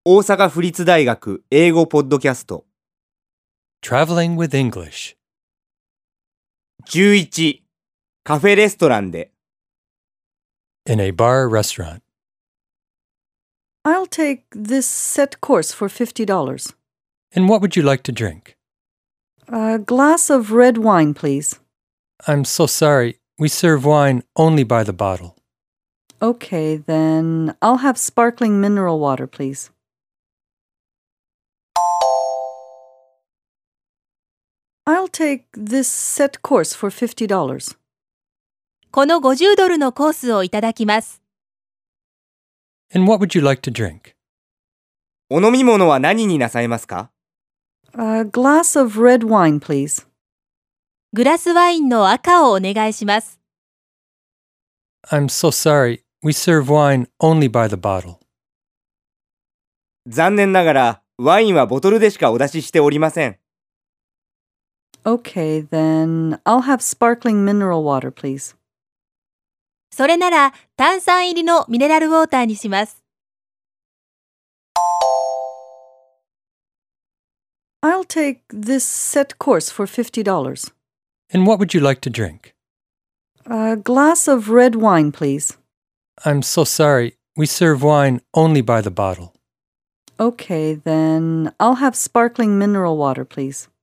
大阪府立大学英語ポッドキャスト Traveling with English. 11カフェレストランで In a bar restaurant. I'll take this set course for $50. And what would you like to drink? A glass of red wine, please. I'm so sorry. We serve wine only by the bottle. Okay, then I'll have sparkling mineral water, please. I'll take this set course for $50. この$50のコースをいただきます。 And what would you like to drink? お飲み物は何になさいますか？ A glass of red wine, please. グラスワインの赤をお願いします。 I'm so sorry. We serve wine only by the bottle. 残念ながらワインはボトルでしかお出ししておりません。 Okay, then I'll have sparkling mineral water, please. それなら炭酸入りのミネラルウォーターにします。 I'll take this set course for $50. And what would you like to drink? A glass of red wine, please. I'm so sorry. We serve wine only by the bottle. Okay, then I'll have sparkling mineral water, please.